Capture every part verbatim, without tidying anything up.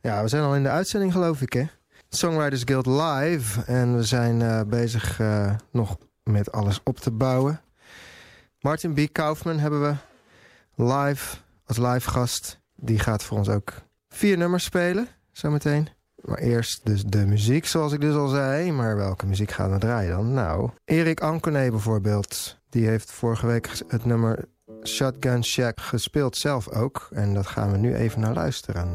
Ja, we zijn al in de uitzending, geloof ik, hè? Songwriters Guild Live. En we zijn uh, bezig uh, nog met alles op te bouwen. Martin B. Kaufman hebben we live, als live gast. Die gaat voor ons ook vier nummers spelen, zometeen. Maar eerst dus de muziek, zoals ik dus al zei. Maar welke muziek gaan we draaien dan? Nou, Erik Anconé bijvoorbeeld. Die heeft vorige week het nummer Shotgun Shack gespeeld zelf ook. En dat gaan we nu even naar luisteren.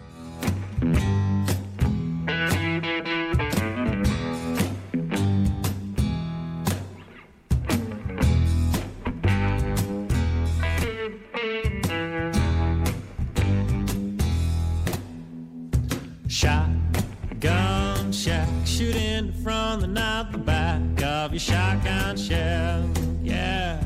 Shotgun shack, shooting from the not the back of your shotgun shell. Yeah,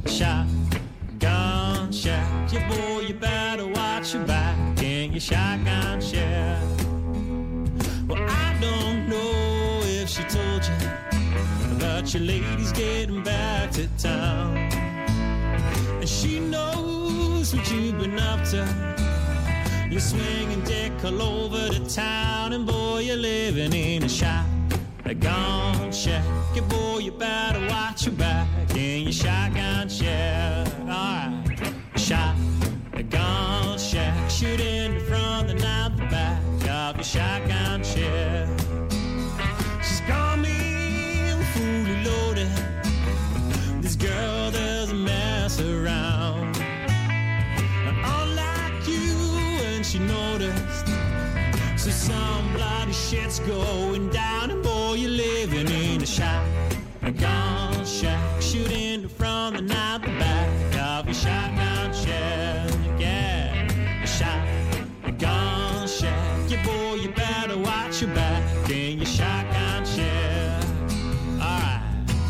shotgun shack. Yeah, boy, you better watch your back in your shotgun shell. Well, I don't know if she told you, but your lady's getting back to town, and she knows what you've been up to. You're swinging dick all over the town, and boy, you're living in a shotgun shack. Yeah, boy, you better watch your back in your shotgun shack. Alright, shotgun shack, shooting from the not the back of your shotgun shack. She's got me fully loaded. This girl doesn't mess around. She noticed, so some bloody shit's going down, and boy, you're living in a shotgun shack, shooting from the not the back of your shotgun shack. Yeah, a shotgun shack. Yeah, boy, you better watch your back in your shotgun shack. Alright.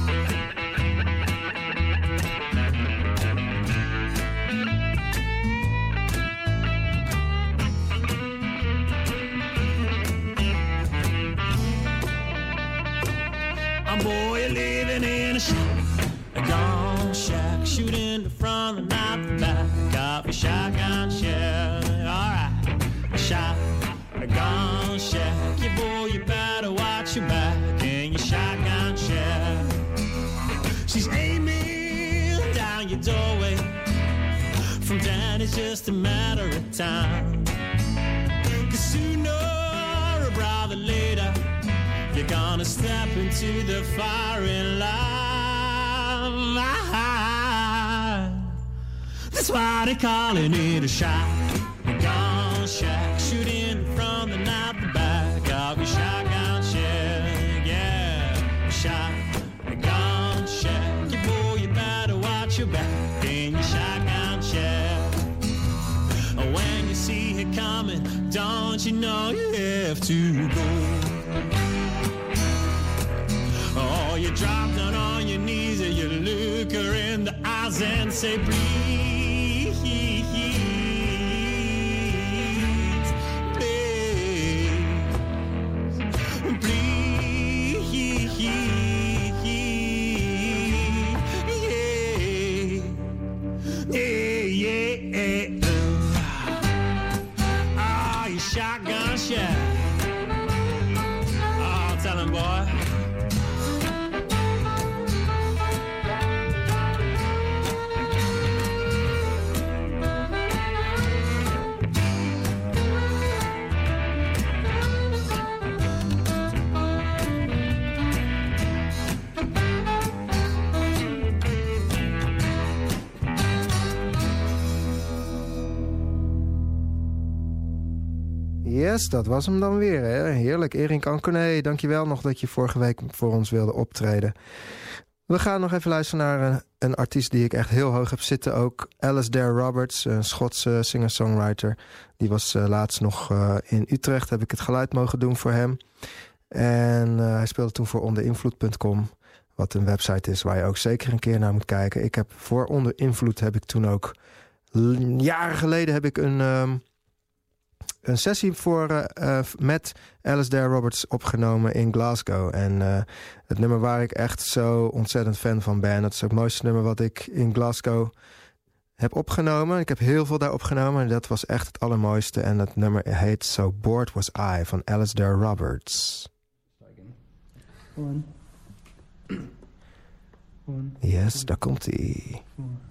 Boy, you're living in a shotgun shack, shooting from the not the back of your shotgun shack. Alright, a shotgun shack. Yeah, boy, you better watch your back in your shotgun shack. She's aiming down your doorway. From then it's just a matter of time, 'cause sooner or rather later you're gonna step into the firing line. That's why they're calling it a shotgun shack, shooting from the not the back of your shotgun shack. Yeah, shotgun shack. Yeah, boy, you better watch your back in your shotgun shack. When you see it coming, don't you know you have to go? Oh, you drop down on your knees and you look her in the eyes and say, please, please, please, yeah, yeah, yeah. Oh, you shotgun shack. Oh, tell him, boy. Yes, dat was hem dan weer. Hè? Heerlijk, Erik Anconé. Dankjewel nog dat je vorige week voor ons wilde optreden. We gaan nog even luisteren naar een, een artiest die ik echt heel hoog heb zitten ook. Alasdair Roberts, een Schotse singer-songwriter. Die was uh, laatst nog uh, in Utrecht. Heb ik het geluid mogen doen voor hem. En uh, hij speelde toen voor onder invloed punt com. Wat een website is waar je ook zeker een keer naar moet kijken. Ik heb voor Onder Invloed heb ik toen ook... Jaren geleden heb ik een... Um, een sessie voor, uh, uh, met Alasdair Roberts opgenomen in Glasgow. En uh, het nummer waar ik echt zo ontzettend fan van ben. Dat is ook het mooiste nummer wat ik in Glasgow heb opgenomen. Ik heb heel veel daar opgenomen. Dat was echt het allermooiste. En dat nummer heet So Bored Was I van Alasdair Roberts. One. One. Yes, daar komt ie.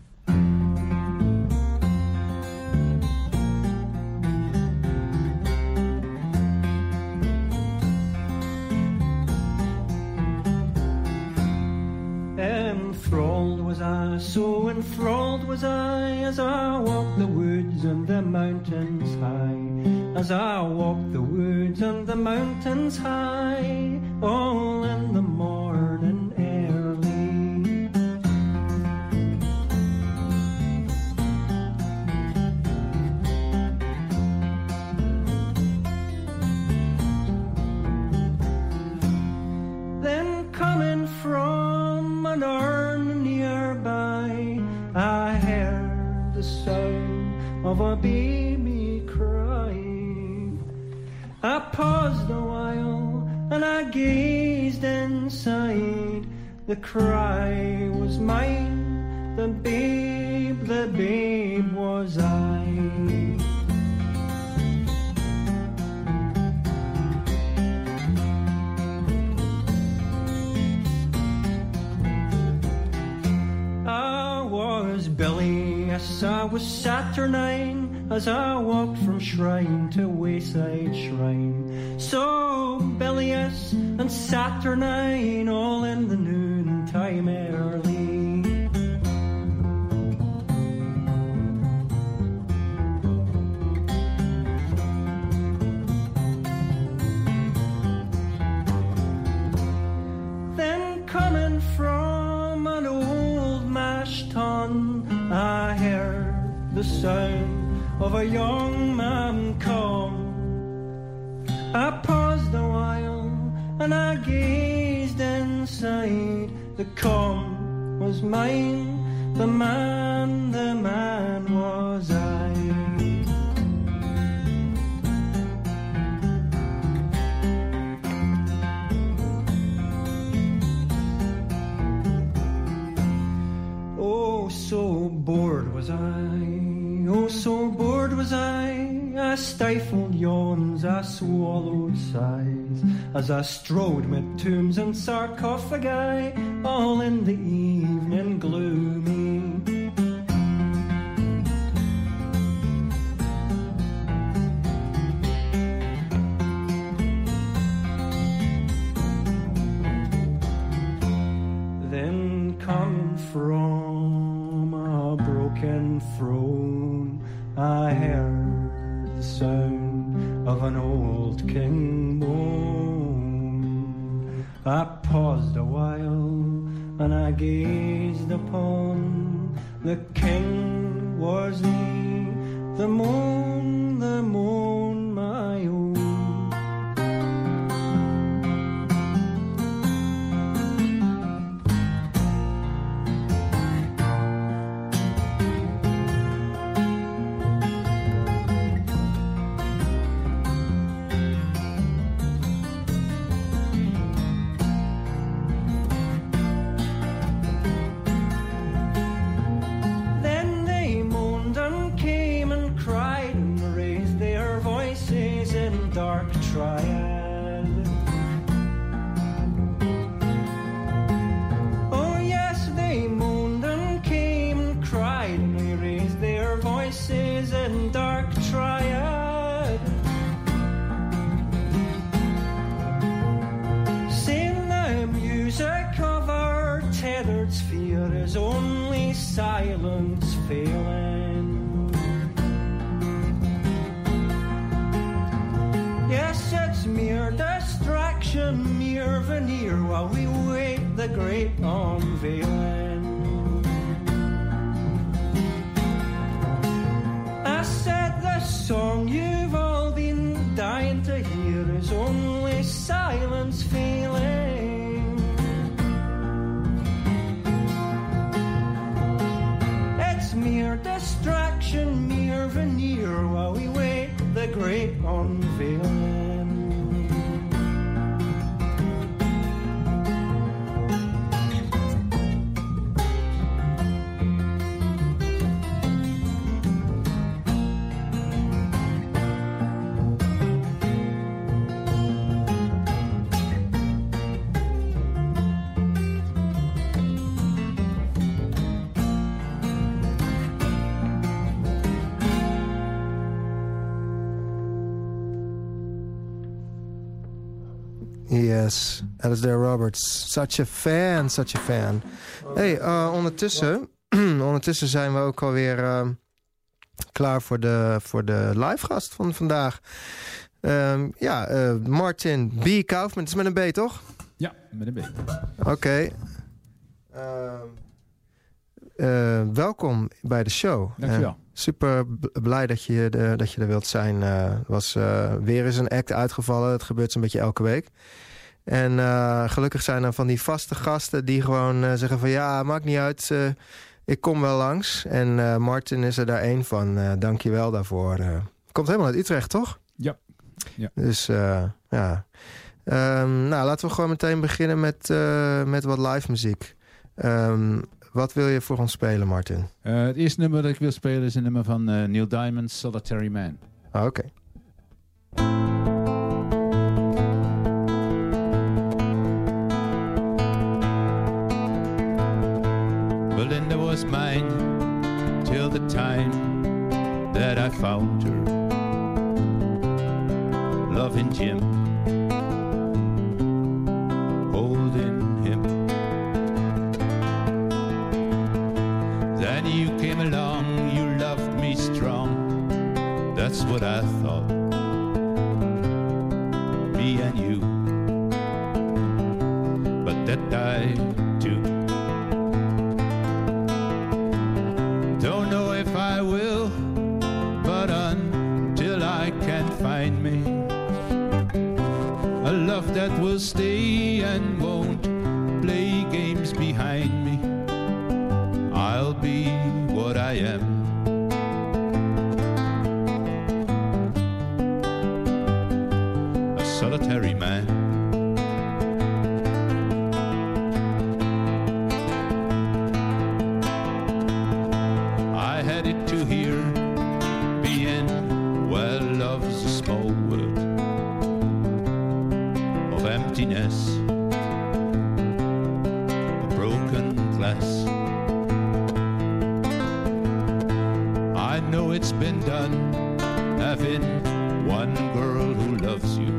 Enthralled was I, so enthralled was I, as I walked the woods and the mountains high, as I walked the woods and the mountains high, all in the morning early. Then coming from an urn nearby, I heard the sound of a baby crying. I paused a while and I gazed inside. The cry was mine, the babe, the babe was I. Billy, yes, I was saturnine as I walked from shrine to wayside shrine. So bilious and saturnine, all in the noontime early. Then coming from an old mash tun, I heard the sound of a young man come. I paused a while and I gazed inside. The come was mine, the man, the man was I. Oh, so bored was I, oh, so bored was I, I stifled yawns, I swallowed sighs, as I strode mid tombs and sarcophagi, all in the evening gloomy. Then come from a broken throne, I heard the sound of an old king moan. I paused a while and I gazed upon the king was he, the moon, the moon, my own. Dark triad. Oh yes, they moaned and came and cried, and they raised their voices in dark triad, saying the music of our tethered sphere is only silence failing. Yes, it's mere distraction, mere veneer, while we wait the great unveiling. I said the song you've all been dying to hear is only silence failing. It's mere distraction, mere veneer, while we wait the great unveiling. Yes, Alasdair Roberts. Such a fan, such a fan. Hey, uh, ondertussen, ondertussen zijn we ook alweer uh, klaar voor de, voor de live gast van vandaag. Um, ja, uh, Martin B. Kaufman. Het is met een B, toch? Ja, met een B. Oké. Okay. Uh, uh, welkom bij de show. Dankjewel. Uh, super b- blij dat je, de, dat je er wilt zijn. Er uh, was uh, weer eens een act uitgevallen. Het gebeurt zo'n beetje elke week. En uh, gelukkig zijn er van die vaste gasten die gewoon uh, zeggen van... ja, maakt niet uit, uh, ik kom wel langs. En uh, Martin is er daar één van. Uh, dank je wel daarvoor. Uh, komt helemaal uit Utrecht, toch? Ja. ja. Dus uh, ja... Um, nou, laten we gewoon meteen beginnen met, uh, met wat live muziek. Um, wat wil je voor ons spelen, Martin? Uh, het eerste nummer dat ik wil spelen is een nummer van uh, Neil Diamond, Solitary Man. Ah, oké. Okay. Belinda was mine till the time that I found her. Loving Jim, holding him. Then you came along, you loved me strong. That's what I thought. Me and you, but that died too. Don't know if I will, but until I can find me a love that will stay and won't play games behind me, I'll be what I am. A solitary man. I had it to hear, being well love's a small word of emptiness, a broken glass. I know it's been done, having one girl who loves you,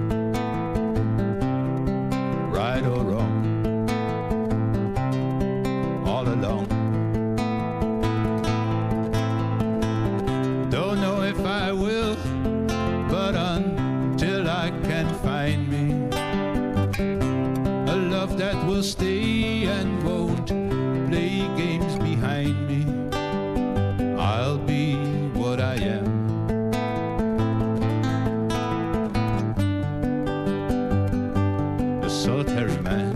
right or wrong, all along. Don't know if I will, but until I can find me a love that will stay and won't play games behind me, I'll be what I am. A solitary man.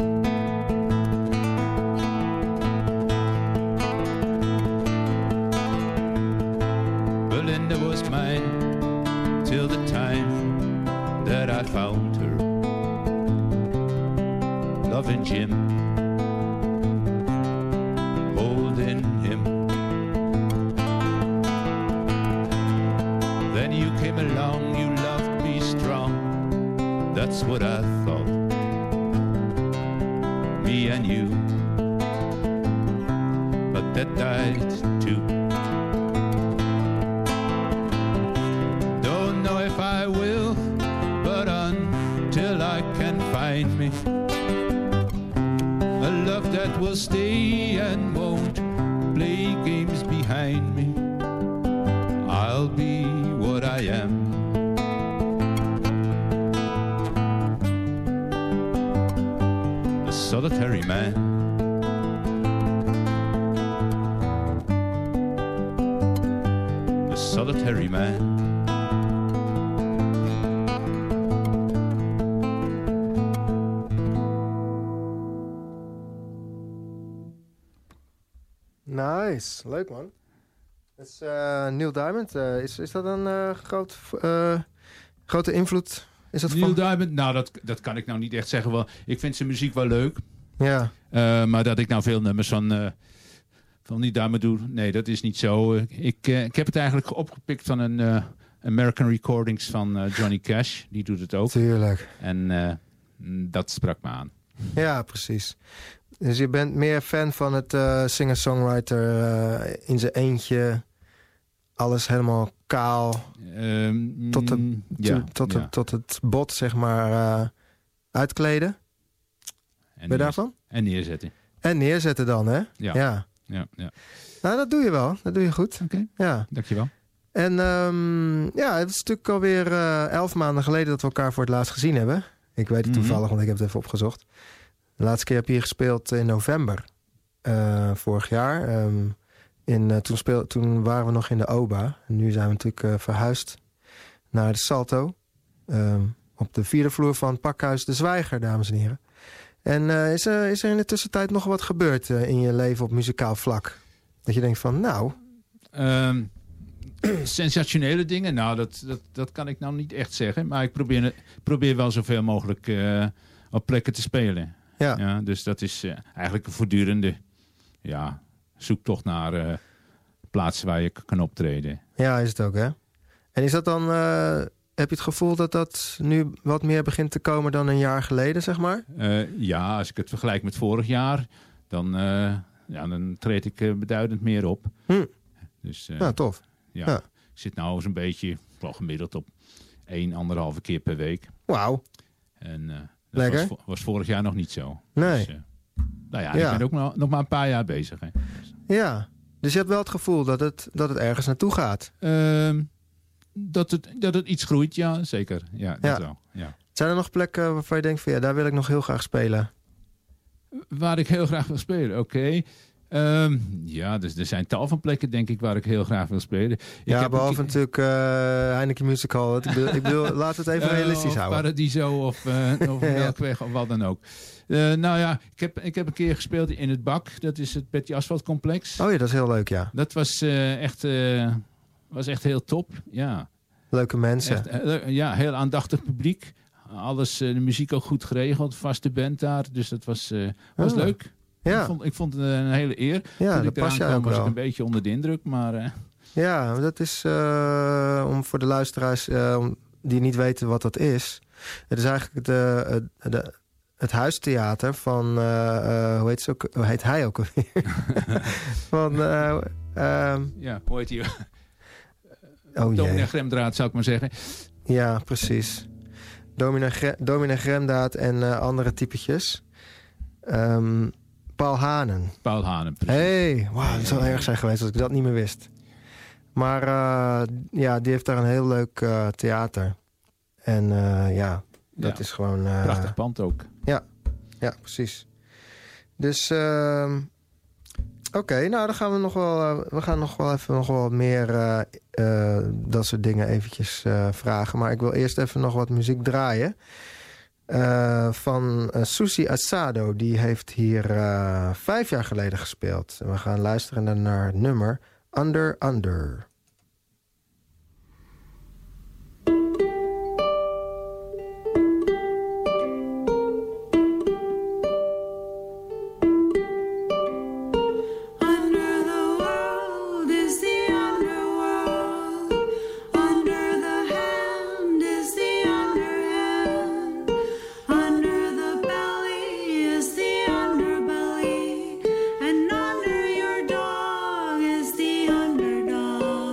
Belinda was mine till the time that I found her. Loving Jim, holding him. Then you came along, you loved me strong. That's what I thought. Me and you, but that died too. Don't know if I will, but until I can find me a love that will stay and won't play games behind me, I'll be what I am. A solitary man. A solitary man. Nice, leuk man. Dat is uh, Neil Diamond. Uh, is, is dat een uh, groot, uh, grote invloed? Is dat Neil van... Diamond? Nou, dat, dat kan ik nou niet echt zeggen. Wel, ik vind zijn muziek wel leuk. Ja. Uh, maar dat ik nou veel nummers van, uh, van Neil Diamond doe, nee, dat is niet zo. Uh, ik, uh, ik heb het eigenlijk opgepikt van een uh, American Recordings van uh, Johnny Cash. Die doet het ook. Tuurlijk. En uh, dat sprak me aan. Ja, precies. Dus je bent meer fan van het uh, singer-songwriter uh, in zijn eentje. Alles helemaal kaal. Um, tot, de, ja, to, tot, ja. de, tot het bot, zeg maar, uh, Uitkleden. En Ben je neer- daarvan? En neerzetten. En neerzetten dan, hè? Ja. ja. Ja, ja. Nou, dat doe je wel. Dat doe je goed. Oké, Ja. dankjewel. En um, ja, het is natuurlijk alweer uh, elf maanden geleden dat we elkaar voor het laatst gezien hebben. Ik weet het toevallig, Mm-hmm. want ik heb het even opgezocht. De laatste keer heb je hier gespeeld in november. Uh, vorig jaar. Um, in, uh, toen, speel, toen waren we nog in de Oba. En nu zijn we natuurlijk uh, verhuisd naar de Salto. Um, op de vierde vloer van het pakhuis De Zwijger, dames en heren. En uh, is, er, is er in de tussentijd nog wat gebeurd uh, in je leven op muzikaal vlak? Dat je denkt van, nou... Um, sensationele dingen? Nou, dat, dat, dat kan ik nou niet echt zeggen. Maar ik probeer, probeer wel zoveel mogelijk uh, op plekken te spelen. Ja. Ja, dus dat is uh, eigenlijk een voortdurende ja, zoektocht naar uh, plaatsen waar je kan optreden. Ja, is het ook, hè? En is dat dan... Uh, heb je het gevoel dat dat nu wat meer begint te komen dan een jaar geleden, zeg maar? Uh, ja, als ik het vergelijk met vorig jaar... dan, uh, ja, dan treed ik uh, beduidend meer op. Hm. Dus, uh, ja, tof. Ja, ja. Ik zit nou zo'n beetje, wel gemiddeld op één, anderhalve keer per week. Wauw. En uh, dat Lekker. was, was vorig jaar nog niet zo. Nee. Dus, uh, nou ja, ja, ik ben ook nog, nog maar een paar jaar bezig. Hè. Dus. Ja, dus je hebt wel het gevoel dat het, dat het ergens naartoe gaat. Uh, dat, het, dat het iets groeit, ja, zeker. Ja, dat ja. wel. Ja. Zijn er nog plekken waarvan je denkt van ja, daar wil ik nog heel graag spelen? Waar ik heel graag wil spelen, oké. Okay. Um, ja, dus er zijn tal van plekken, denk ik, waar ik heel graag wil spelen. Ik ja, heb behalve natuurlijk uh, Heineken Music Hall. Ik bedoel, ik bedoel laten we het even realistisch uh, of houden. Paradiso of, uh, of Melkweg of wat dan ook. Uh, nou ja, ik heb, ik heb een keer gespeeld in het Bak. Dat is het Petty Asphalt Complex. Oh ja, dat is heel leuk, ja. Dat was, uh, echt, uh, was echt heel top, ja. Leuke mensen. Echt, uh, ja, heel aandachtig publiek. Alles, uh, de muziek ook goed geregeld. Vaste band daar. Dus dat was, uh, was oh. leuk. Ja. Ik vond, ik vond het een hele eer. Ja, Toen dat ik past eraan jij ook kwam, was wel. ik een beetje onder de indruk. Maar, uh... Ja, dat is uh, om voor de luisteraars uh, die niet weten wat dat is. Het is eigenlijk de, de, het huistheater van, uh, uh, hoe, heet ze ook, hoe heet hij ook alweer? van, uh, uh, ja, hoe heet hij? oh Dominee Gremdraad, zou ik maar zeggen. Ja, precies. Dominee, Gre- Dominee Gremdaad en uh, andere typetjes. Um, Paul Hanen. Paul Hanen, precies. Hey, wauw, het zou erg zijn geweest als ik dat niet meer wist. Maar uh, ja, die heeft daar een heel leuk uh, theater. En uh, ja, dat ja, is gewoon... Uh, prachtig pand ook. Ja, ja, precies. Dus, uh, oké, okay, nou dan gaan we nog wel... Uh, we gaan nog wel even nog wel meer uh, uh, dat soort dingen eventjes uh, vragen. Maar ik wil eerst even nog wat muziek draaien. Uh, van uh, Susi Asado. Die heeft hier uh, vijf jaar geleden gespeeld. En we gaan luisteren naar het nummer Under Under. Underdog.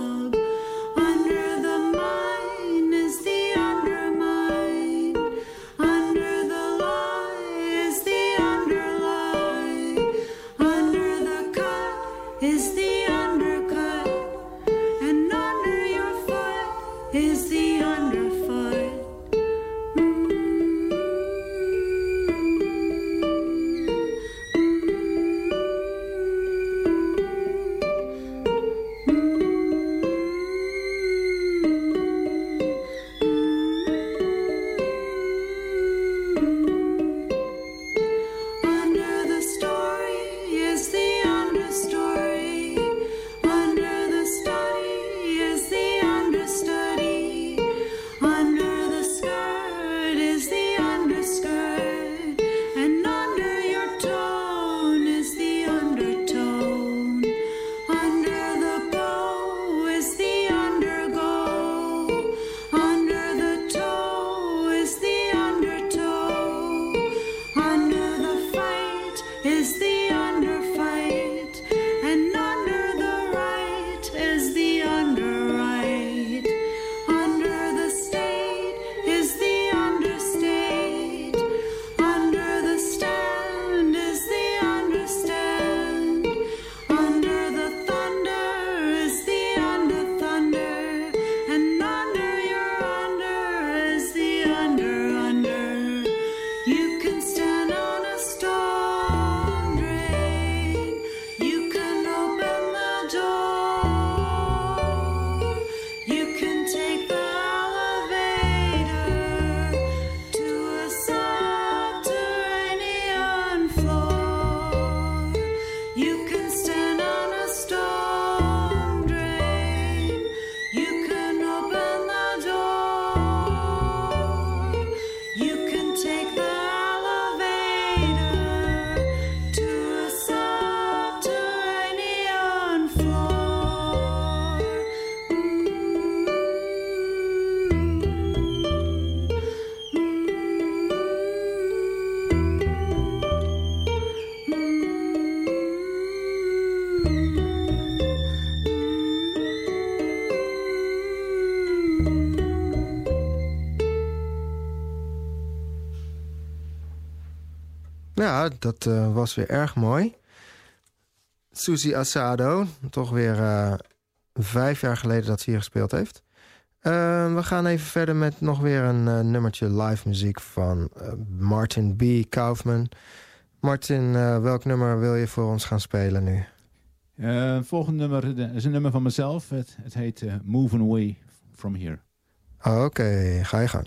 Ja, dat uh, was weer erg mooi. Susie Asado, toch weer uh, vijf jaar geleden dat ze hier gespeeld heeft. Uh, we gaan even verder met nog weer een uh, nummertje live muziek van uh, Martin B. Kaufman. Martin, uh, welk nummer wil je voor ons gaan spelen nu? Uh, het volgende nummer is een nummer van mezelf. Het, het heet uh, Moving Away From Here. Oké, okay, ga je gang.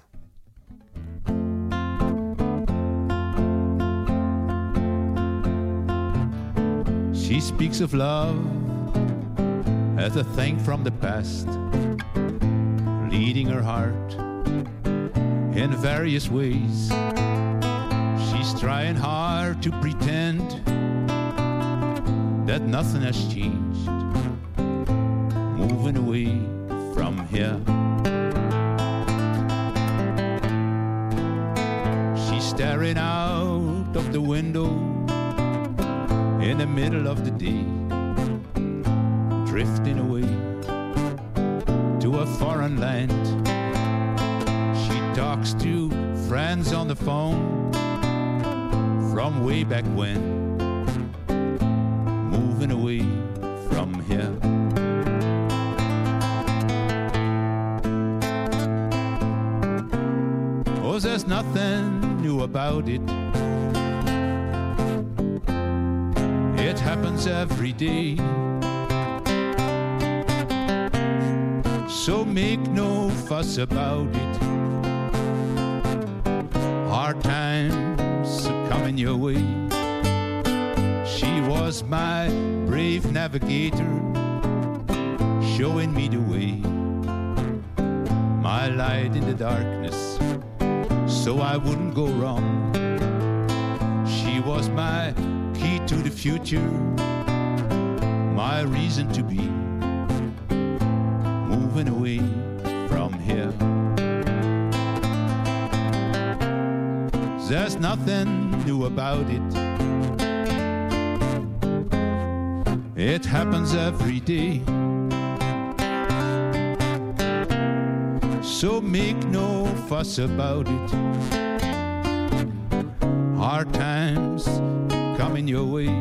She speaks of love as a thing from the past, leading her heart in various ways. She's trying hard to pretend that nothing has changed, moving away from here. She's staring out of the window in the middle of the day, drifting away to a foreign land. She talks to friends on the phone from way back when, moving away from here. Oh, there's nothing new about it. It happens every day. So make no fuss about it. Hard times are coming your way. She was my brave navigator, showing me the way, my light in the darkness, so I wouldn't go wrong. She was my key to the future, my reason to be, moving away from here. There's nothing new about it. It happens every day. So make no fuss about it. Hard times coming your way.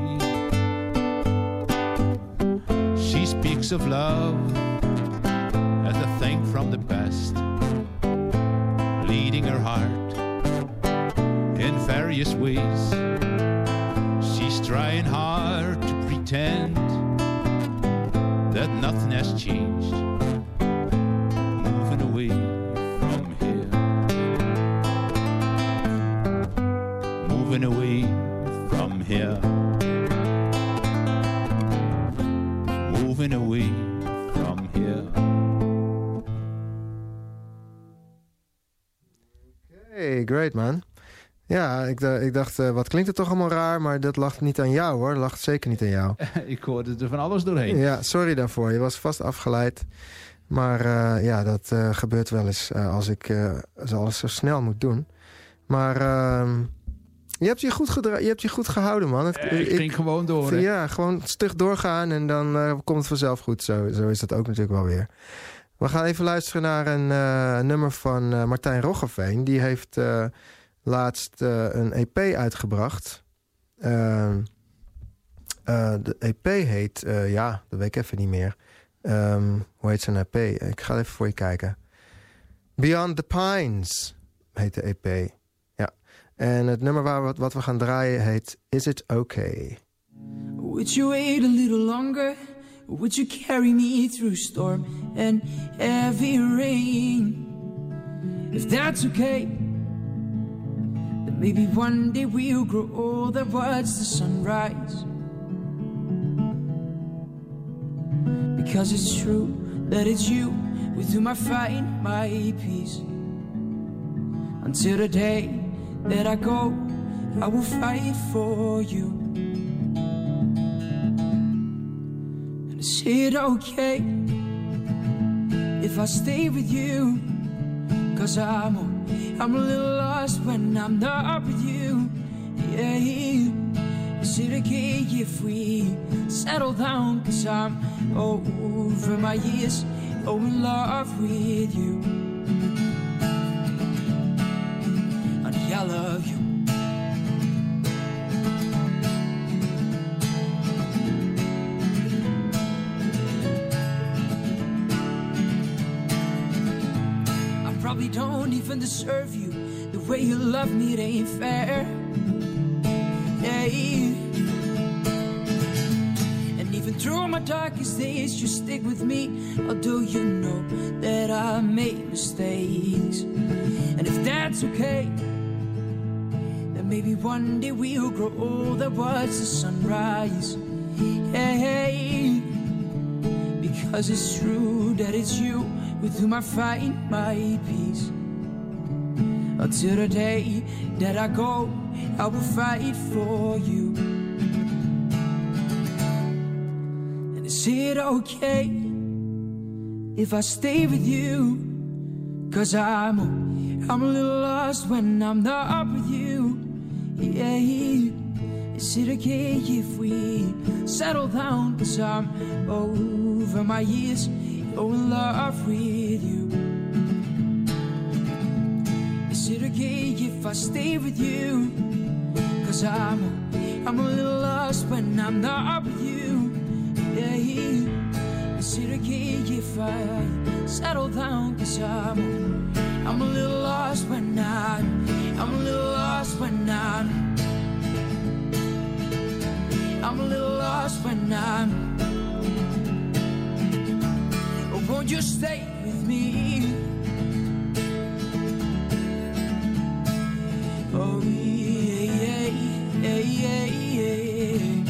She speaks of love as a thing from the past, leading her heart in various ways. She's trying hard to pretend that nothing has changed, moving away from here, moving away from here, moving away from here. Hey, great man. Ja, ik, d- ik dacht, uh, wat klinkt het toch allemaal raar, maar dat lag niet aan jou hoor. Dat lag zeker niet aan jou. Ik hoorde er van alles doorheen. Ja, sorry daarvoor. Je was vast afgeleid. Maar uh, ja, dat uh, gebeurt wel eens uh, als ik uh, alles zo snel moet doen. Maar uh, je, hebt je, goed gedra- je hebt je goed gehouden, man. Het, Eh, ik ik ging gewoon door. Hè? Ja, gewoon stug doorgaan en dan uh, komt het vanzelf goed. Zo, zo is dat ook natuurlijk wel weer. We gaan even luisteren naar een uh, nummer van uh, Martijn Roggeveen. Die heeft uh, laatst uh, een E P uitgebracht. Uh, uh, de E P heet, uh, ja, dat weet ik even niet meer. Um, hoe heet zijn E P? Ik ga even voor je kijken. Beyond the Pines heet de E P. Ja. En het nummer waar we, wat we gaan draaien heet Is It Okay? Would you wait a little longer? Would you carry me through storm and heavy rain? If that's okay, then maybe one day we'll grow old and watch the sunrise. Because it's true that it's you with whom I find my peace. Until the day that I go, I will fight for you. Is it okay if I stay with you? Cause I'm a, I'm a little lost when I'm not with you. Yeah. Is it okay if we settle down? Cause I'm over my years, oh in love with you. Honey, I love you. don't even deserve you. The way you love me, it ain't fair. Yeah. And even through my darkest days, you stick with me. Although you know that I made mistakes. And if that's okay, then maybe one day we'll grow old and watch the sunrise. Hey, because it's true that it's you with whom I find my peace. Until the day that I go, I will fight for you. And is it okay if I stay with you? Cause I'm, I'm a little lost when I'm not with you. Yeah. Is it okay if we settle down? Cause I'm over my years, you're in love with you. Is it okay if I stay with you? Cause I'm, I'm a little lost when I'm not with you. Yeah. Is it okay if I settle down? Cause I'm, I'm a little lost when I'm, I'm a little lost when I'm I'm a little lost when I'm. Oh, won't you stay with me? Oh, yeah, yeah, yeah, yeah.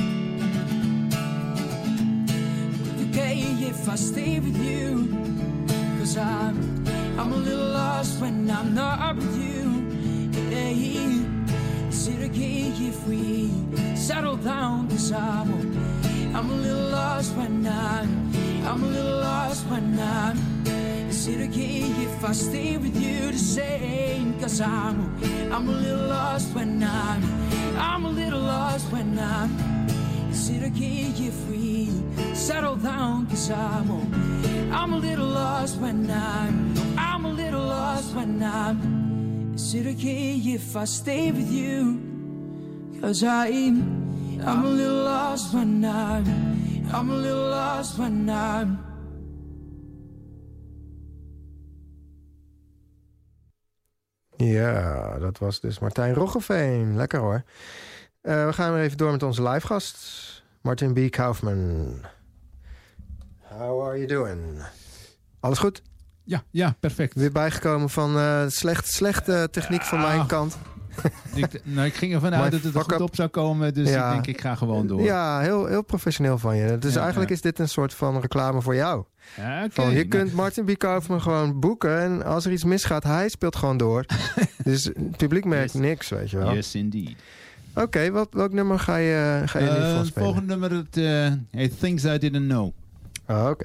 Okay, if I stay with you, cause I'm, I'm a little lost when I'm not with you. Yeah. Is it okay if we settle down? Cause I'm, I'm a little lost when I'm, I'm a little lost when I'm. Is it okay if I stay with you the same? Cause I'm, I'm a little lost when I'm, I'm a little lost when I'm. Is it okay if we settle down? Cause I'm, I'm a little lost when I'm, I'm a little lost when I'm. Is it okay if I stay with you? Cause I'm, I'm a little lost when I'm, I'm a little lost when I'm. Ja, dat was dus Martijn Roggeveen. Lekker hoor. Uh, we gaan weer even door met onze live gast, Martin B. Kaufman. How are you doing? Alles goed? Ja, ja, perfect. Weer bijgekomen van uh, slecht, slechte techniek van mijn kant. ik, nou, ik ging ervan uit dat het er goed op zou komen, dus ja. ik denk ik ga gewoon door. Ja, heel, heel professioneel van je. Dus ja, eigenlijk ja. is dit een soort van reclame voor jou. Ja, okay. Van, je kunt Martin B. Kaufman gewoon boeken en als er iets misgaat, hij speelt gewoon door. Dus het publiek merkt yes. niks, weet je wel. Yes, indeed. Oké, okay, welk nummer ga je, ga je uh, nu van spelen? Het volgende nummer, het, uh, hey, Things I Didn't Know. Oh, oké. Okay.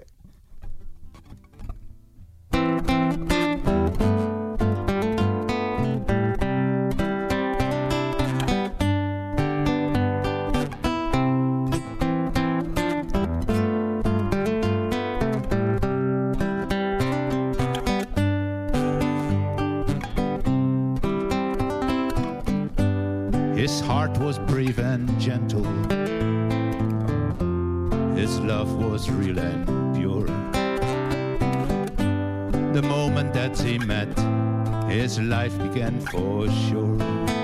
His heart was brave and gentle. His love was real and pure. The moment that he met, his life began for sure.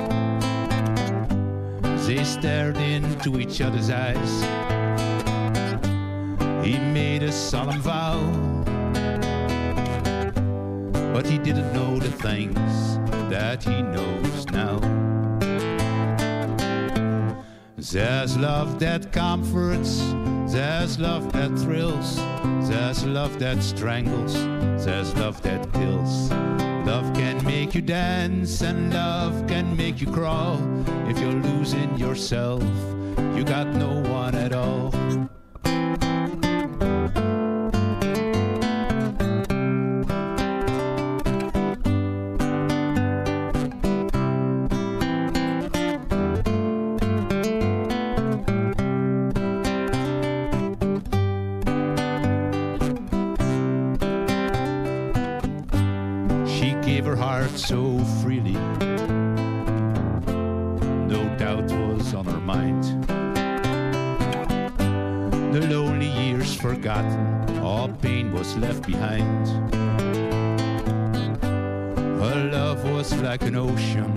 They stared into each other's eyes. He made a solemn vow, but he didn't know the things that he knows now. There's love that comforts, there's love that thrills, there's love that strangles, there's love that kills. Love can make you dance and love can make you crawl. If you're losing yourself, you got no one at all. So freely, no doubt was on her mind. The lonely years forgotten, all pain was left behind. Her love was like an ocean.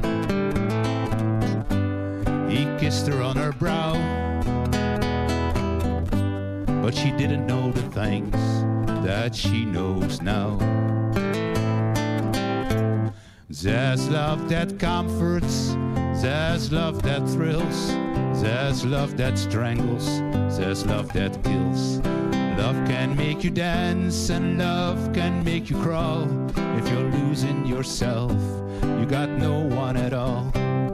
He kissed her on her brow, but she didn't know the things that she knows now. There's love that comforts, there's love that thrills, there's love that strangles, there's love that kills. Love can make you dance and love can make you crawl. If you're losing yourself, you got no one at all.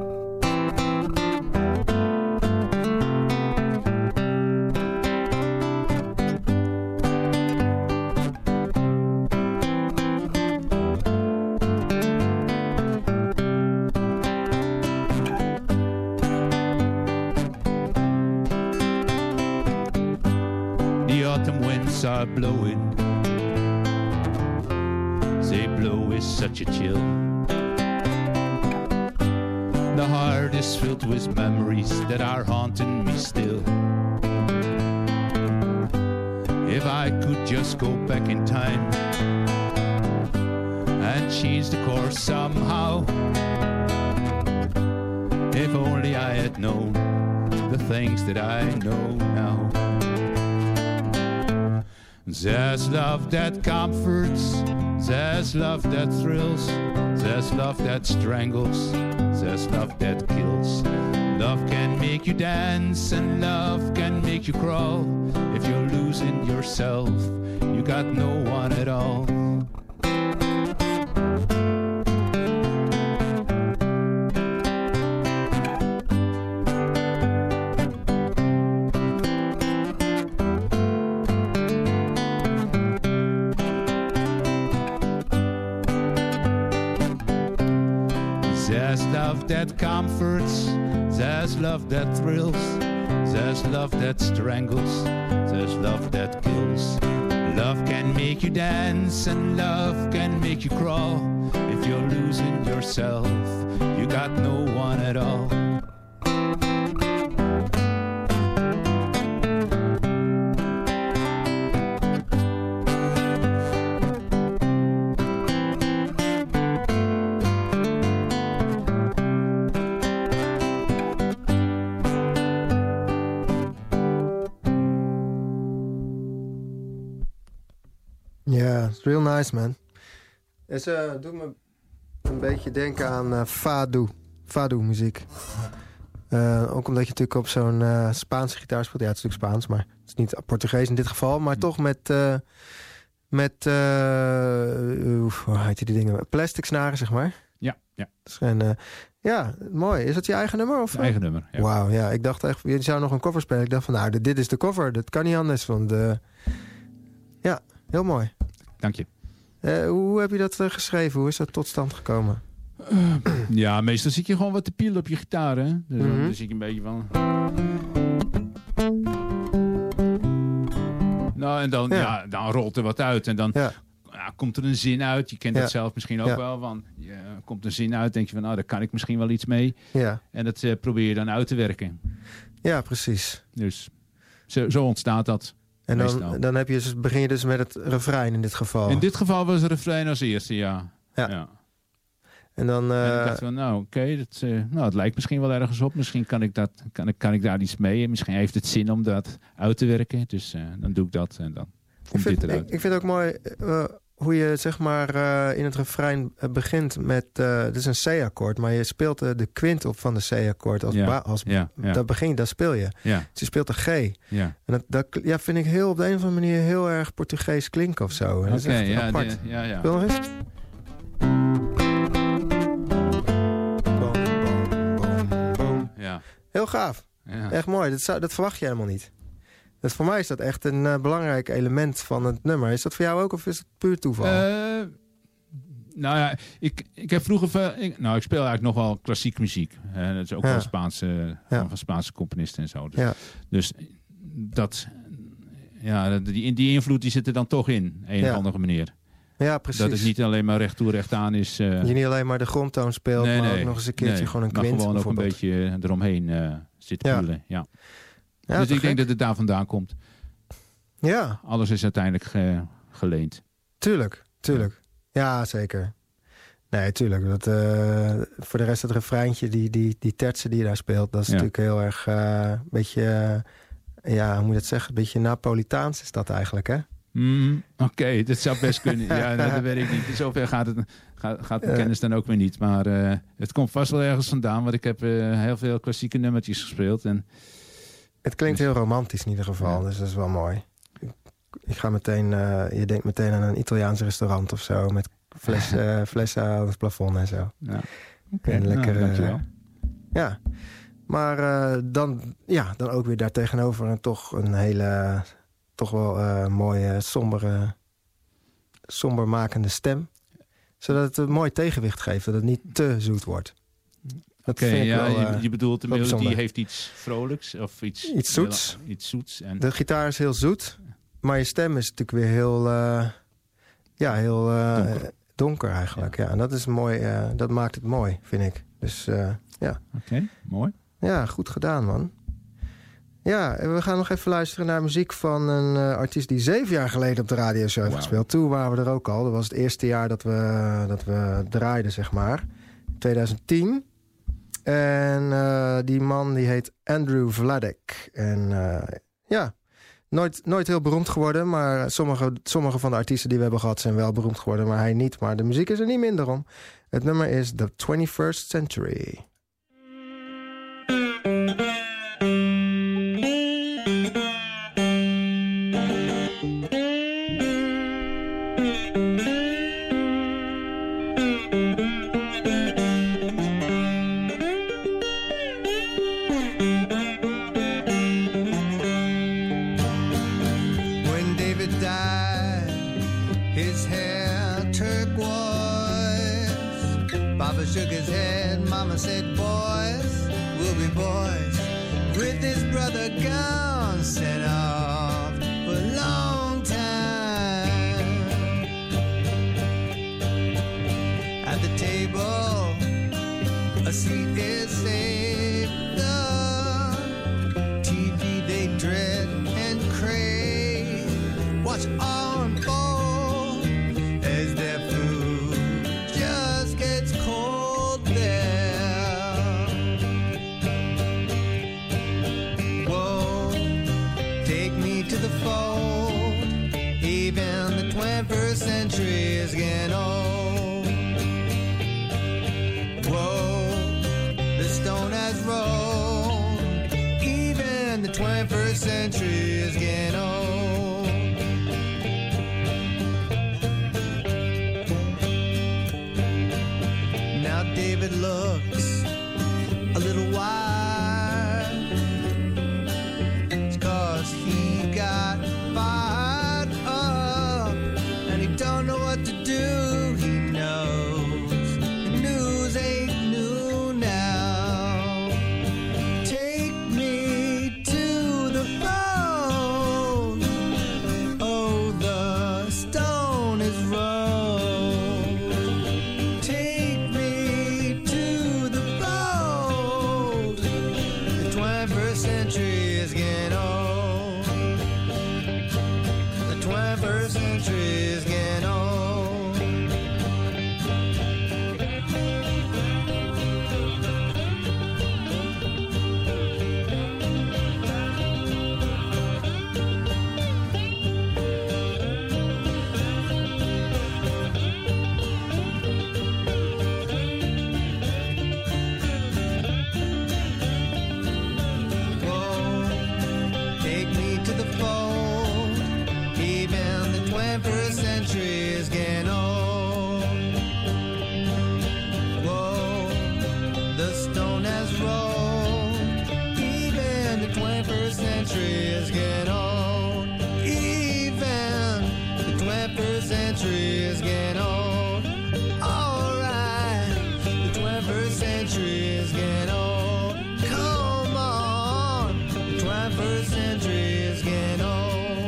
Are blowing, they blow with such a chill. The heart is filled with memories that are haunting me still. If I could just go back in time and change the course somehow. If only I had known the things that I know now. There's love that comforts, there's love that thrills, there's love that strangles, there's love that kills. Love can make you dance and love can make you crawl. If you're losing yourself, you got no one at all. There's love that comforts, there's love that thrills, there's love that strangles, there's love that kills. Love can make you dance and love can make you crawl. If you're losing yourself, you got no one at all. Ja, it's real nice, man. Het uh, doet me een beetje denken aan uh, fado. Fado-muziek. Uh, ook omdat je natuurlijk op zo'n uh, Spaanse gitaar speelt. Ja, het is natuurlijk Spaans, maar het is niet Portugees in dit geval. Maar toch met... Uh, met, uh, uh, hoe heet die dingen? Plastic snaren, zeg maar. Ja, ja. Dus, en, uh, ja, mooi. Is dat je eigen nummer? Of? Eigen nummer, ja. Wauw, ja. Ik dacht echt, je zou nog een cover spelen. Ik dacht van, nou, dit, dit is de cover. Dat kan niet anders. Want, uh, ja, heel mooi. Dank je. Uh, hoe heb je dat uh, geschreven? Hoe is dat tot stand gekomen? Uh, ja, meestal zit je gewoon wat te pielen op je gitaar, hè? Dus mm-hmm. dan zit je een beetje van... Nou, en dan, ja. Ja, dan rolt er wat uit. En dan ja. Ja, komt er een zin uit. Je kent ja. dat zelf misschien ook ja. wel. Van, ja, komt een zin uit, denk je van... nou, daar kan ik misschien wel iets mee. Ja. En dat uh, probeer je dan uit te werken. Ja, precies. Dus zo, zo ontstaat dat. En dan, dan heb je dus, begin je dus met het refrein in dit geval. In dit geval was het refrein als eerste, ja. Ja. ja. En dan... Uh... En ik dacht van, nou oké, okay, dat, uh, nou, het lijkt misschien wel ergens op. Misschien kan ik, dat, kan, ik, kan ik daar iets mee. Misschien heeft het zin om dat uit te werken. Dus uh, dan doe ik dat en dan komt vind, dit eruit. Ik, ik vind het ook mooi uh, hoe je zeg maar uh, in het refrein uh, begint met... Uh, het is een C-akkoord, maar je speelt uh, de kwint op van de C-akkoord. Als, ja, ba- als ja, ja. Dat begin, dat speel je. Ja. Dus je speelt een G. Ja. En dat, dat ja, vind ik heel op de een of andere manier heel erg Portugees klinken of zo. Oké, okay, ja, apart. De, ja, ja. Speel nog eens. Boom, boom, boom, boom. Ja. Heel gaaf. Ja. Echt mooi. Dat, zou, dat verwacht je helemaal niet. Dat, voor mij is dat echt een uh, belangrijk element van het nummer. Is dat voor jou ook of is het puur toeval? Uh, nou ja, ik, ik heb vroeger... Ik, nou, ik speel eigenlijk nog wel klassiek muziek. Uh, dat is ook ja. wel Spaanse, ja. van Spaanse componisten en zo. Dus, ja. dus dat... Ja, die, die invloed die zit er dan toch in. Een ja. of andere manier. Ja, precies. Dat het niet alleen maar recht toe, recht aan is. Uh, je niet alleen maar de grondtoon speelt, nee, maar nee, ook nog eens een keertje nee, gewoon een kwint. Maar gewoon ook een beetje eromheen uh, zit ja. voelen. Ja. Ja, dus ik gek? denk dat het daar vandaan komt. Ja. Alles is uiteindelijk ge, geleend. Tuurlijk, tuurlijk. Ja, zeker. Nee, tuurlijk. Dat, uh, voor de rest het refreintje, die, die, die tertsen die je daar speelt... dat is ja. natuurlijk heel erg een uh, beetje... Uh, ja, hoe moet je het zeggen? Een beetje Napolitaans is dat eigenlijk, hè? Mm, Oké, okay, dat zou best kunnen. Ja, nou, dat weet ik niet. Zover gaat, het, gaat, gaat de uh, kennis dan ook weer niet. Maar uh, het komt vast wel ergens vandaan. Want ik heb uh, heel veel klassieke nummertjes gespeeld. En... Het klinkt dus... heel romantisch in ieder geval. Ja. Dus dat is wel mooi. Ik, ik ga meteen... Uh, je denkt meteen aan een Italiaans restaurant of zo... met fles, uh, flessen aan het plafond en zo. Ja. Okay, en lekker... Nou, dankjewel. Uh, ja. Maar uh, dan, ja, dan ook weer daartegenover... en toch een hele... toch wel uh, mooie, sombere, sombermakende stem. Zodat het een mooi tegenwicht geeft. Dat het niet te zoet wordt. Oké, okay, ja, wel, uh, je, je bedoelt de melodie heeft iets vrolijks of iets... Iets zoets. Heel, iets zoets en... De gitaar is heel zoet. Maar je stem is natuurlijk weer heel... Uh, ja, heel uh, donker. donker eigenlijk. Ja. Ja, en dat is mooi. Uh, dat maakt het mooi, vind ik. Dus uh, ja. Oké, okay, mooi. Ja, goed gedaan, man. Ja, we gaan nog even luisteren naar muziek van een uh, artiest... die zeven jaar geleden op de radioshow heeft wow. gespeeld. Toen waren we er ook al. Dat was het eerste jaar dat we, dat we draaiden, zeg maar. twintig tien. En uh, die man die heet Andrew Vladek. En uh, ja, nooit, nooit heel beroemd geworden... maar sommige, sommige van de artiesten die we hebben gehad... zijn wel beroemd geworden, maar hij niet. Maar de muziek is er niet minder om. Het nummer is The twenty-first Century. Shook his head, Mama said, boys will be boys. With his brother gone, sent off for a long time. At the table, a seat is saved. The T V they dread and crave. Watch all unfold as their food just gets cold. Even the twenty-first century is getting old. Whoa, the stone has rolled. Even the twenty-first century is getting old. Now David looks a little wild. It's 'cause he got fired up and he don't know what to do. He knows the news ain't new now. Take me to the phone. Oh, the stone is rolled. Take me to the fold. The twenty-first century is getting old. The twenty-first century is getting old. Whoa, take me to the fold. Even the twenty-first century is getting old. Whoa, the stone has rolled. Even the twenty-first century is getting old. Even the twenty-first century is getting old. Alright, the twenty-first century is getting old. Come on, the twenty-first century is getting old.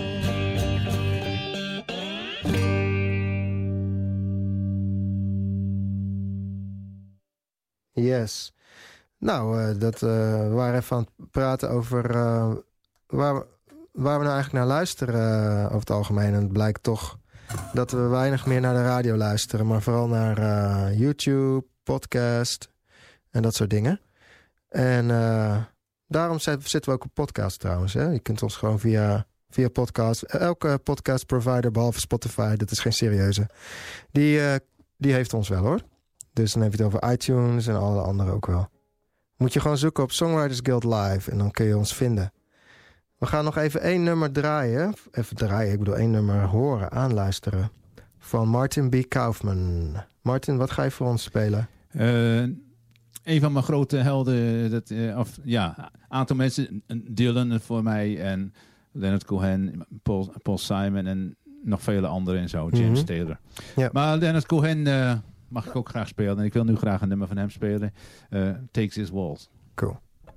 Yes. Nou, uh, dat, uh, we waren even aan het praten over uh, waar, we, waar we nou eigenlijk naar luisteren uh, over het algemeen. En het blijkt toch dat we weinig meer naar de radio luisteren, maar vooral naar uh, YouTube, podcast en dat soort dingen. En uh, daarom zitten we ook op podcast trouwens. Hè? Je kunt ons gewoon via, via podcast, elke podcast provider behalve Spotify, dat is geen serieuze, die, uh, die heeft ons wel hoor. Dus dan heb je het over iTunes en alle anderen ook wel. Moet je gewoon zoeken op Songwriters Guild Live en dan kun je ons vinden. We gaan nog even één nummer draaien. Even draaien, ik bedoel één nummer horen, aanluisteren. Van Martin B. Kaufman. Martin, wat ga je voor ons spelen? Uh, een van mijn grote helden, dat, uh, of ja, een aantal mensen, Dylan voor mij en Leonard Cohen, Paul, Paul Simon en nog vele anderen en zo, James mm-hmm. Taylor. Ja. Maar Leonard Cohen uh, mag ik ook graag spelen en ik wil nu graag een nummer van hem spelen. Uh, Takes His Waltz. Cool.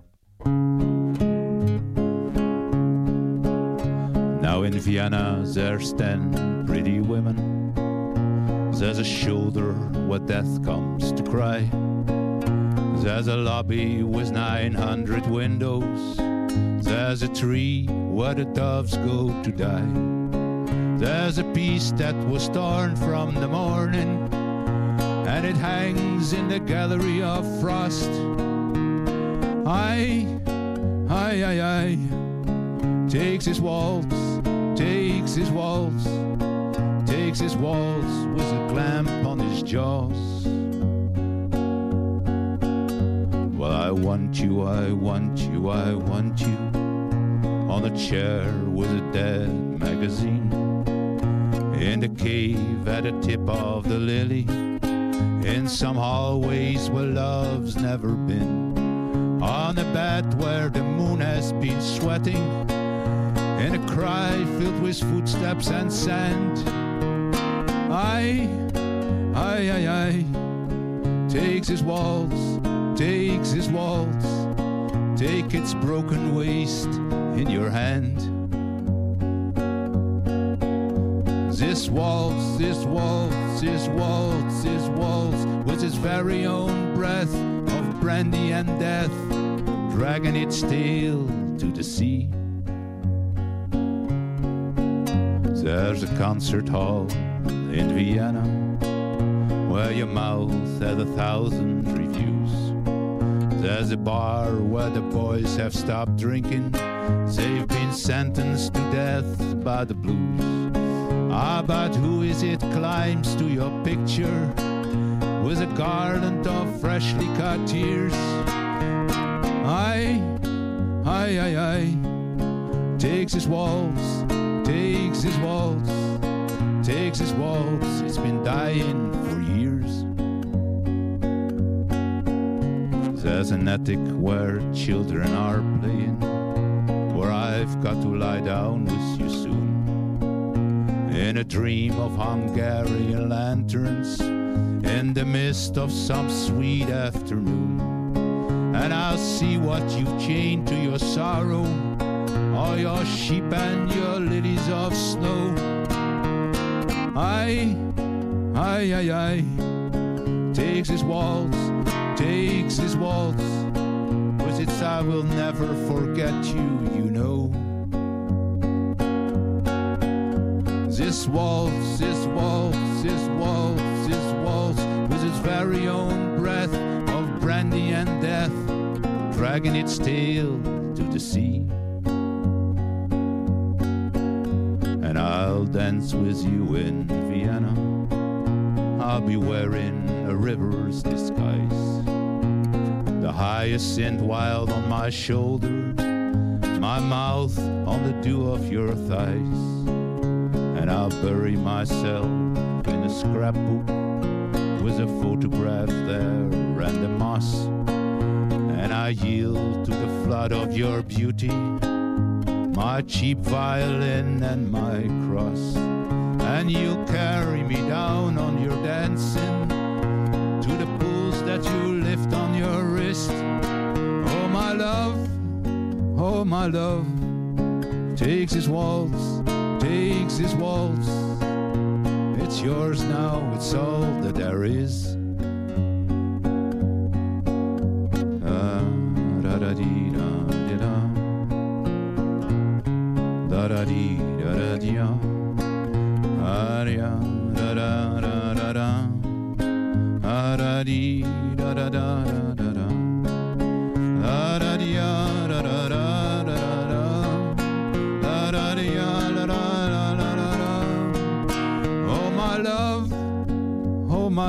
Now in Vienna there's ten pretty women. There's a shoulder where death comes to cry. There's a lobby with nine hundred windows. There's a tree where the doves go to die. There's a piece that was torn from the morning, and it hangs in the gallery of frost. Aye, aye, aye, aye. Takes his waltz, takes his waltz, takes his waltz with a clamp on his jaws. Well, I want you, I want you, I want you on a chair with a dead magazine, in the cave at the tip of the lily, in some hallways where love's never been, on a bed where the moon has been sweating, in a cry filled with footsteps and sand. Aye, aye, aye, aye. Takes his waltz, takes his waltz. Take its broken waist in your hand. This waltz, this waltz, this waltz, this waltz, with its very own breath of brandy and death, dragging its tail to the sea. There's a concert hall in Vienna where your mouth has a thousand reviews. There's a bar where the boys have stopped drinking. They've been sentenced to death by the blues. Ah, but who is it climbs to your picture with a garland of freshly cut tears? Aye, aye, aye, aye. Takes his waltz, takes his waltz, takes his waltz. It's been dying for years. There's an attic where children are playing, where I've got to lie down with you soon, in a dream of Hungarian lanterns, in the mist of some sweet afternoon. And I'll see what you've chained to your sorrow, all your sheep and your lilies of snow. Aye, aye, aye, aye. Takes his waltz, takes his waltz. With its I will never forget you, you know. This waltz, this waltz, this waltz, this waltz, with its very own breath of brandy and death, dragging its tail to the sea. And I'll dance with you in Vienna. I'll be wearing a river's disguise, the hyacinth wild on my shoulder, my mouth on the dew of your thighs. And I'll bury myself in a scrapbook with a photograph there and the moss. And I yield to the flood of your beauty, my cheap violin and my cross. And you'll carry me down on your dancing to the pools that you lift on your wrist. Oh my love, oh my love, takes his waltz, takes his waltz. It's yours now, it's all that there is. Ah, da da dee da da da, da da dee da da dee. Aria,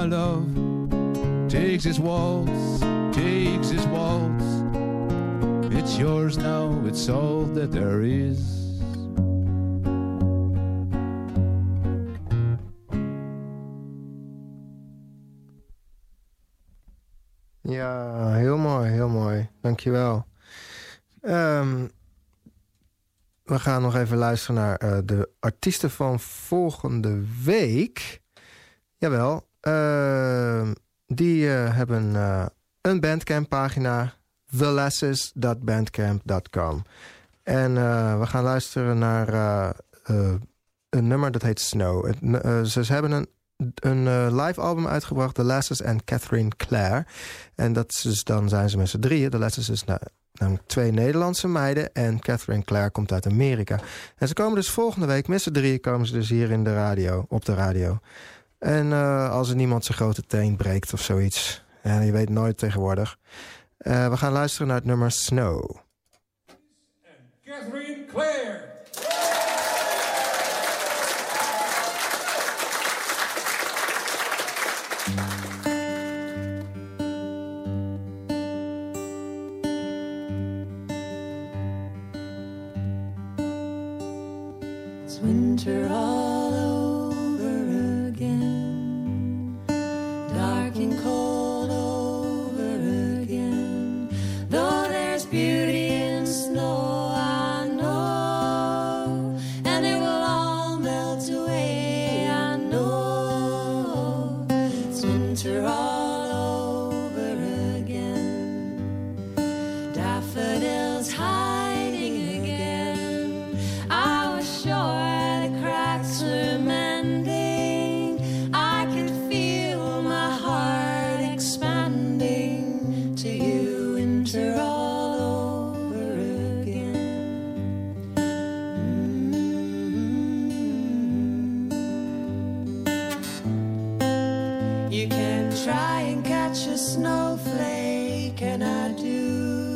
my love takes his waltz, takes his waltz. It's yours now, it's all that there is. Ja, heel mooi, heel mooi. Dankjewel. Um, we gaan nog even luisteren naar uh, de artiesten van volgende week. Jawel, uh, die uh, hebben uh, een Bandcamp pagina, the lasses dot bandcamp dot com. En uh, we gaan luisteren naar uh, uh, een nummer dat heet Snow. Het, uh, ze, ze hebben een een uh, live album uitgebracht, The Lasses en Catherine Clare. En dat is dus, dan zijn ze met z'n drieën. The Lasses is nou, namelijk twee Nederlandse meiden en Catherine Clare komt uit Amerika. En ze komen dus volgende week, met z'n drieën komen ze dus hier in de radio, op de radio. En uh, als er niemand zijn grote teen breekt of zoiets. Ja, je weet nooit tegenwoordig. Uh, we gaan luisteren naar het nummer Snow. En Catherine Clare. It's winter all over again, dark and cold over again. Though there's beauty in snow, I know, and it will all melt away, I know. It's winter all over again, daffodils hiding again. I was sure the cracks were mending. I could feel my heart expanding to you, winter all over again. Mm-hmm. You can try and catch a snowflake, and I do.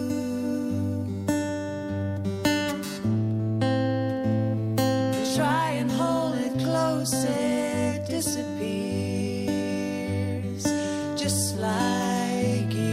Try and hold it close, it disappears, just like you.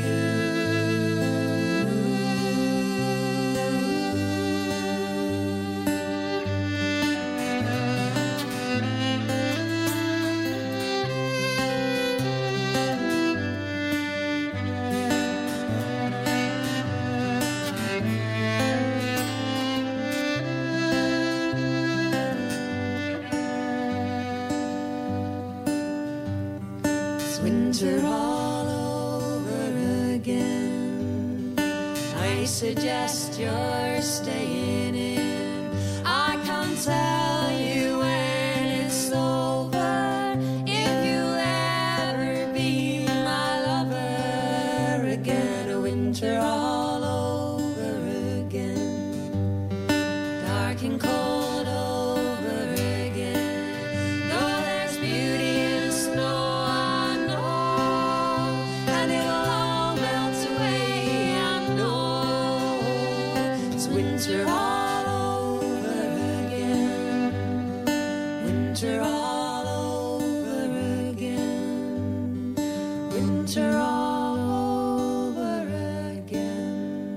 It's winter all over again. I suggest you're staying in. I can't tell you when it's over. If you'll ever be my lover again, a winter all over again, dark and cold over again. Though there's beauty in snow, I know, and it'll all melt away, I know. It's winter all over again, winter all over again, winter all over again.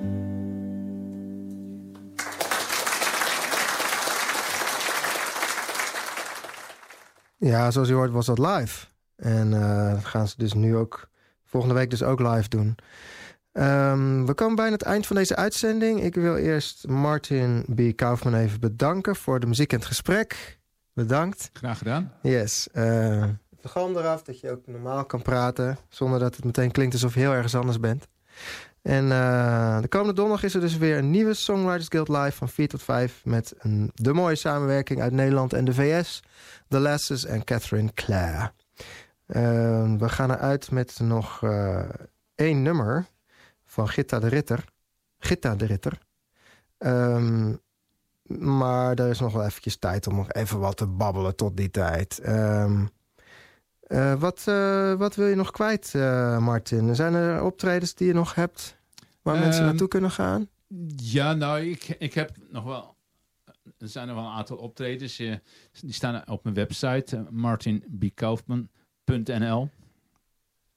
Ja, zoals u hoort was dat live. En uh, dat gaan ze dus nu ook volgende week dus ook live doen. Um, we komen bijna het eind van deze uitzending. Ik wil eerst Martin B. Kaufman even bedanken voor de muziek en het gesprek. Bedankt. Graag gedaan. Yes. Uh, de galm eraf, dat je ook normaal kan praten, zonder dat het meteen klinkt alsof je heel ergens anders bent. En uh, de komende donderdag is er dus weer een nieuwe Songwriters Guild Live van vier tot vijf... met een, de mooie samenwerking uit Nederland en de V S. The Lasses en Catherine Clare. Uh, we gaan eruit met nog uh, één nummer van Gitta de Ritter. Gitta de Ritter. Um, maar er is nog wel eventjes tijd om nog even wat te babbelen tot die tijd. Um, uh, wat, uh, wat wil je nog kwijt, uh, Martin? Zijn er optredens die je nog hebt waar um, mensen naartoe kunnen gaan? Ja, nou, ik, ik heb nog wel... Er zijn er wel een aantal optredens. Uh, die staan op mijn website, uh, martin b kaufman punt n l.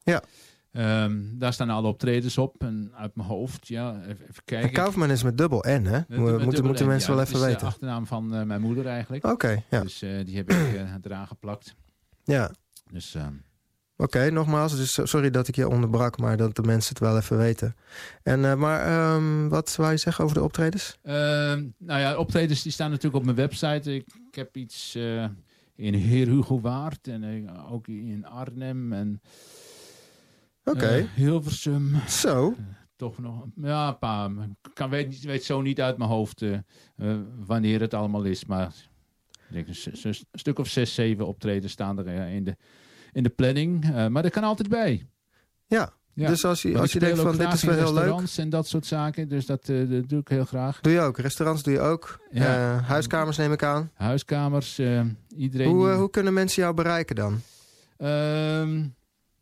Ja. Um, daar staan alle optredens op. En uit mijn hoofd, ja, even, even kijken. En Kaufman is met dubbel N, hè? Mo- moeten moeten N, mensen ja, wel even dat is weten. de achternaam van uh, mijn moeder eigenlijk. Oké, okay, ja. Dus uh, die heb ik uh, eraan geplakt. Ja. Dus... Uh, Oké, okay, nogmaals, dus sorry dat ik je onderbrak, maar dat de mensen het wel even weten. En, uh, maar um, wat wou je zeggen over de optredens? Uh, nou ja, optredens die staan natuurlijk op mijn website. Ik, ik heb iets uh, in Heer Hugo Waard en uh, ook in Arnhem en Oké. Okay. uh, Hilversum. Zo. Uh, toch nog, ja, een paar. Ik kan, weet, weet zo niet uit mijn hoofd uh, uh, wanneer het allemaal is, maar ik denk een, een, een stuk of zes, zeven optredens staan er uh, in de... in de planning, uh, maar dat kan altijd bij. Ja, ja. Dus als je, als je denkt van dit is wel heel leuk. Restaurants en dat soort zaken, dus dat, uh, dat doe ik heel graag. Doe je ook, restaurants doe je ook. Ja. Uh, huiskamers neem ik aan. Huiskamers, uh, iedereen. Hoe, uh, die... hoe kunnen mensen jou bereiken dan? Um,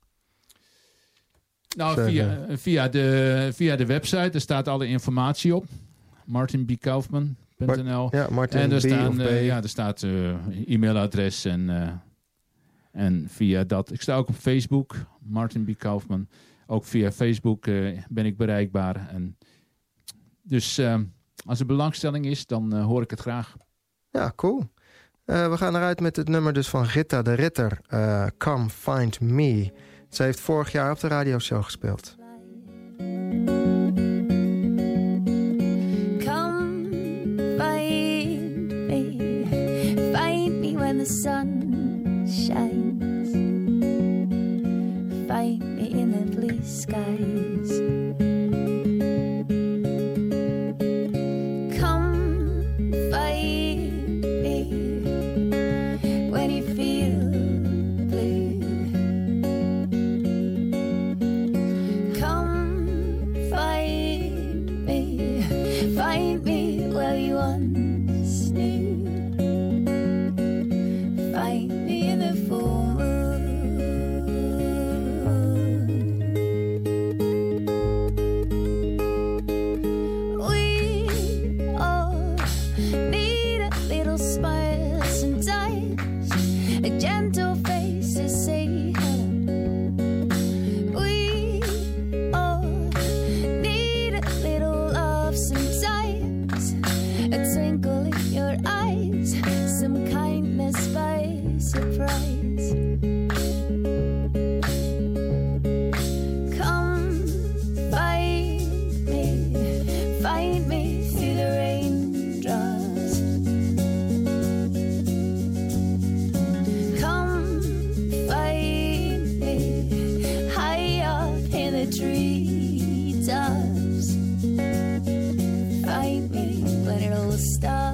nou, via, via, de, via de website, daar staat alle informatie op. martin b kaufman punt n l Ja, Martin en er, B staan, of B. Uh, ja, er staat uh, e-mailadres en... Uh, En via dat, ik sta ook op Facebook, Martin B. Kaufman. Ook via Facebook uh, ben ik bereikbaar. En dus uh, als er belangstelling is, dan uh, hoor ik het graag. Ja, cool. Uh, we gaan eruit met het nummer dus van Rita de Ritter, uh, Come Find Me. Ze heeft vorig jaar op de radioshow gespeeld. Come find me, find me when the sun shines, find me in the blue skies. Come find me when you feel blue. Come find me, find me where you once knew. Find me in the full moon. We all need a little smile sometimes, a gentle face to say hello. We all need a little love sometimes, a twinkle in your eyes, some kindness by surprise. Come find me, find me through the raindrops. Come find me high up in the treetops. Find me when it all stops.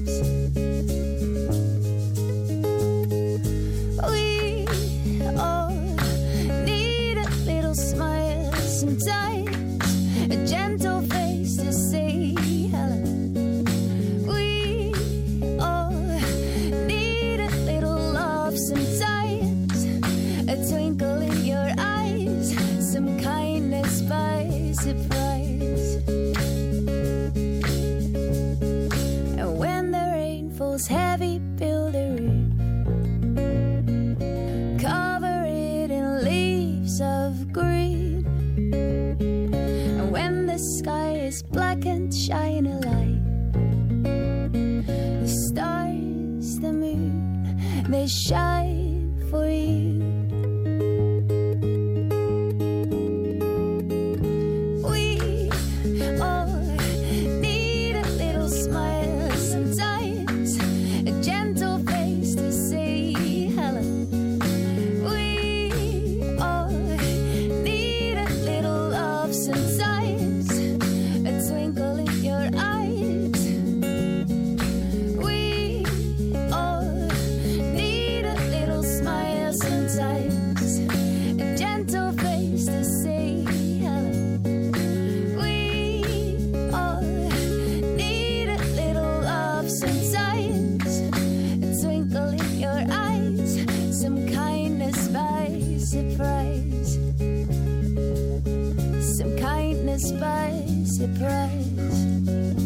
We all need a little smile sometimes, a gentle face to say hello. We all need a little love sometimes, a twinkle in your eyes, some kindness by surprise. And when the rain falls heavy, build a roof, cover it in leaves of green. And when the sky is black and shine a light, the stars, the moon, they shine for you. We all need a little smile sometimes, a gentle face to say hello. We all need a little love sometimes, a twinkle in your eyes. We all need a little smile sometimes, a gentle face to say hello. We all need a little love sometimes, a twinkle in your eyes, some kindness by surprise, some kindness by surprise.